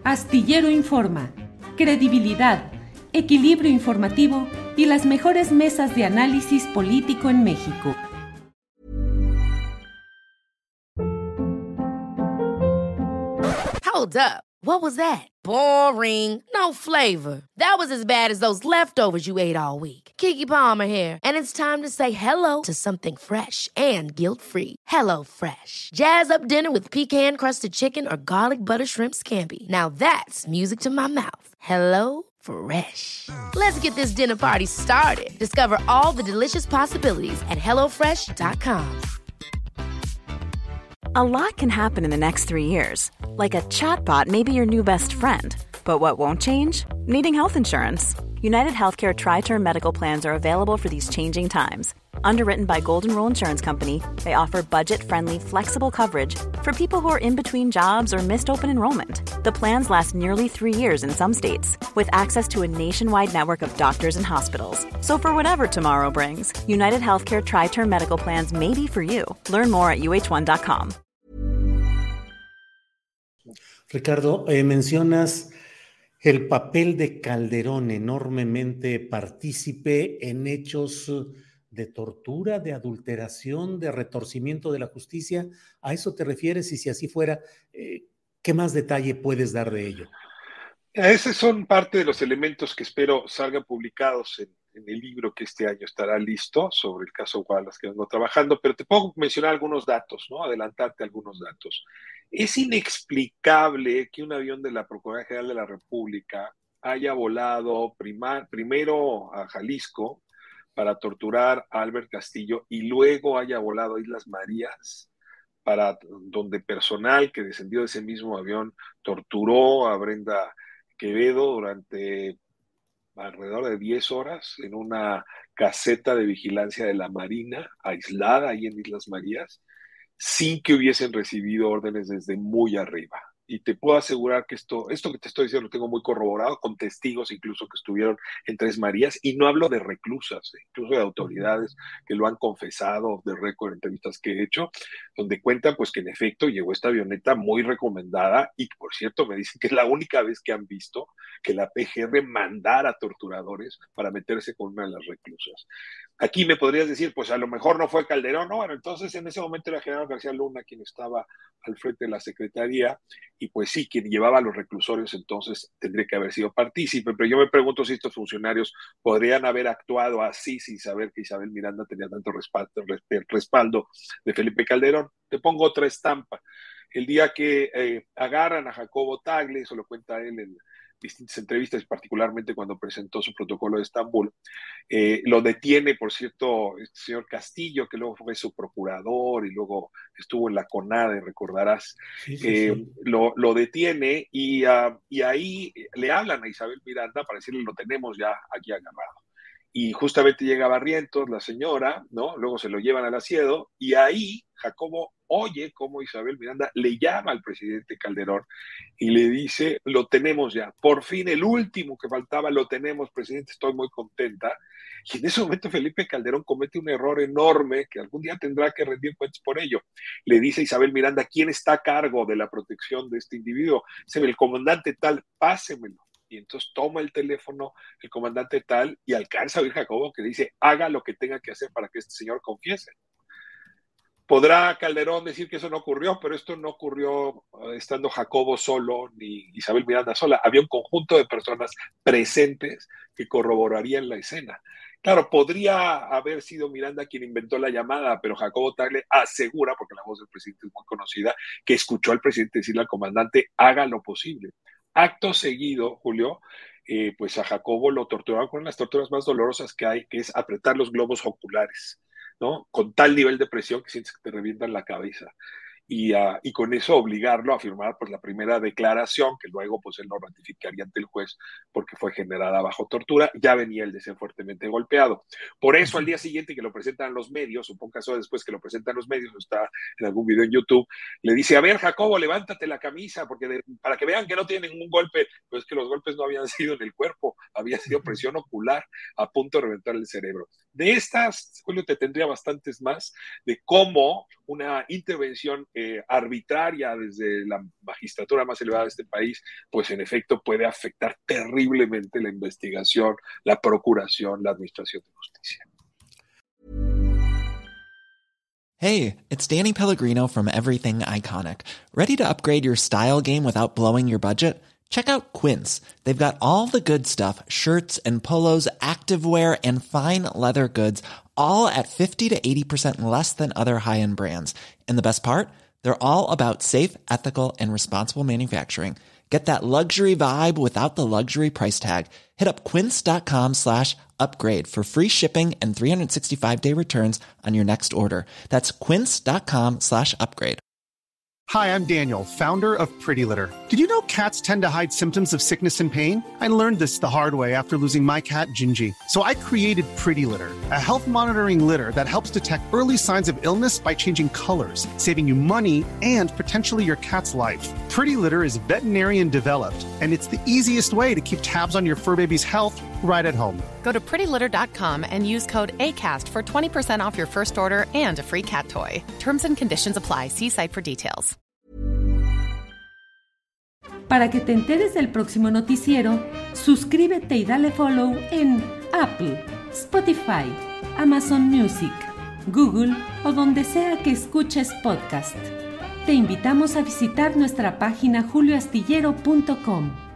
Astillero Informa, credibilidad, equilibrio informativo y las mejores mesas de análisis político en México. Hold up. What was that? Boring. No flavor. That was as bad as those leftovers you ate all week. Keke Palmer here, and it's time to say hello to something fresh and guilt-free. Hello Fresh. Jazz up dinner with pecan-crusted chicken or garlic butter shrimp scampi. Now that's music to my mouth. Hello Fresh. Let's get this dinner party started. Discover all the delicious possibilities at hellofresh.com. A lot can happen in the next 3 years. Like a chatbot may be your new best friend. But what won't change? Needing health insurance. United Healthcare Tri-Term Medical Plans are available for these changing times. Underwritten by Golden Rule Insurance Company, they offer budget-friendly, flexible coverage for people who are in between jobs or missed open enrollment. The plans last nearly 3 years in some states, with access to a nationwide network of doctors and hospitals. So for whatever tomorrow brings, United Healthcare Tri-Term Medical Plans may be for you. Learn more at uh1.com. Ricardo, mencionas el papel de Calderón, enormemente partícipe en hechos de tortura, de adulteración, de retorcimiento de la justicia. ¿A eso te refieres? Y si así fuera, ¿qué más detalle puedes dar de ello? Esos son parte de los elementos que espero salgan publicados en el libro que este año estará listo sobre el caso Wallace que vengo trabajando, pero te puedo mencionar algunos datos, ¿no? Adelantarte algunos datos. Es inexplicable que un avión de la Procuraduría General de la República haya volado primero a Jalisco para torturar a Albert Castillo y luego haya volado a Islas Marías, donde personal que descendió de ese mismo avión torturó a Brenda Quevedo durante alrededor de 10 horas en una caseta de vigilancia de la Marina, aislada ahí en Islas Marías, sin que hubiesen recibido órdenes desde muy arriba. Y te puedo asegurar que esto que te estoy diciendo lo tengo muy corroborado, con testigos incluso que estuvieron en Tres Marías, y no hablo de reclusas, incluso de autoridades que lo han confesado de récord en entrevistas que he hecho, donde cuentan pues que en efecto llegó esta avioneta muy recomendada, y por cierto me dicen que es la única vez que han visto que la PGR mandara torturadores para meterse con una de las reclusas. Aquí me podrías decir, pues a lo mejor no fue Calderón, no, bueno, entonces en ese momento era General García Luna quien estaba al frente de la Secretaría, y pues sí, quien llevaba a los reclusorios entonces tendría que haber sido partícipe, pero yo me pregunto si estos funcionarios podrían haber actuado así sin saber que Isabel Miranda tenía tanto respaldo de Felipe Calderón. Te pongo otra estampa. El día que agarran a Jacobo Tagle, eso lo cuenta él en distintas entrevistas, particularmente cuando presentó su protocolo de Estambul, lo detiene, por cierto, este señor Castillo, que luego fue su procurador y luego estuvo en la CONADE, recordarás. Sí. Lo detiene y ahí le hablan a Isabel Miranda para decirle, lo tenemos ya aquí agarrado. Y justamente llega Barrientos, la señora, ¿no? Luego se lo llevan al asiedo y ahí Jacobo oye cómo Isabel Miranda le llama al presidente Calderón y le dice, lo tenemos ya, por fin el último que faltaba lo tenemos, presidente, estoy muy contenta. Y en ese momento Felipe Calderón comete un error enorme que algún día tendrá que rendir cuentas por ello. Le dice a Isabel Miranda, ¿quién está a cargo de la protección de este individuo? Dice, el comandante tal, pásemelo. Y entonces toma el teléfono el comandante tal y alcanza a oír Jacobo que dice, haga lo que tenga que hacer para que este señor confiese. Podrá Calderón decir que eso no ocurrió, pero esto no ocurrió estando Jacobo solo ni Isabel Miranda sola. Había un conjunto de personas presentes que corroborarían la escena. Claro, podría haber sido Miranda quien inventó la llamada, pero Jacobo Tagle asegura, porque la voz del presidente es muy conocida, que escuchó al presidente decirle al comandante, haga lo posible. Acto seguido, Julio, pues a Jacobo lo torturaron con las torturas más dolorosas que hay, que es apretar los globos oculares, ¿no? Con tal nivel de presión que sientes que te revientan la cabeza. Y con eso obligarlo a firmar pues la primera declaración que luego pues él no ratificaría ante el juez porque fue generada bajo tortura. Ya venía el de ser fuertemente golpeado. Por eso al día siguiente que lo presentan los medios, un poco caso después que lo presentan los medios, está en algún video en YouTube, le dice, a ver Jacobo, levántate la camisa porque para que vean que no tiene ningún golpe, pues que los golpes no habían sido en el cuerpo, había sido presión ocular a punto de reventar el cerebro. De estas, Julio, te tendría bastantes más de cómo una intervención arbitraria desde la magistratura más elevada de este país, pues en efecto puede afectar terriblemente la investigación, la procuración, la administración de justicia. Hey, it's Danny Pellegrino from Everything Iconic. Ready to upgrade your style game without blowing your budget? Check out Quince. They've got all the good stuff, shirts and polos, activewear, and fine leather goods, all at 50 to 80% less than other high-end brands. And the best part? They're all about safe, ethical, and responsible manufacturing. Get that luxury vibe without the luxury price tag. Hit up quince.com/upgrade for free shipping and 365-day returns on your next order. That's quince.com/upgrade. Hi, I'm Daniel, founder of Pretty Litter. Did you know cats tend to hide symptoms of sickness and pain? I learned this the hard way after losing my cat, Gingy. So I created Pretty Litter, a health monitoring litter that helps detect early signs of illness by changing colors, saving you money and potentially your cat's life. Pretty Litter is veterinarian developed, and it's the easiest way to keep tabs on your fur baby's health right at home. Go to prettylitter.com and use code ACAST for 20% off your first order and a free cat toy. Terms and conditions apply. See site for details. Para que te enteres del próximo noticiero, suscríbete y dale follow en Apple, Spotify, Amazon Music, Google o donde sea que escuches podcast. Te invitamos a visitar nuestra página julioastillero.com.